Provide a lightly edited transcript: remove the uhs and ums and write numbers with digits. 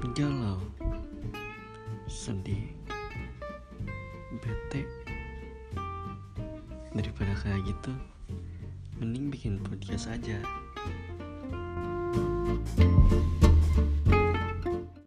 galau, sedih, bete. Daripada kayak gitu, mending bikin podcast aja.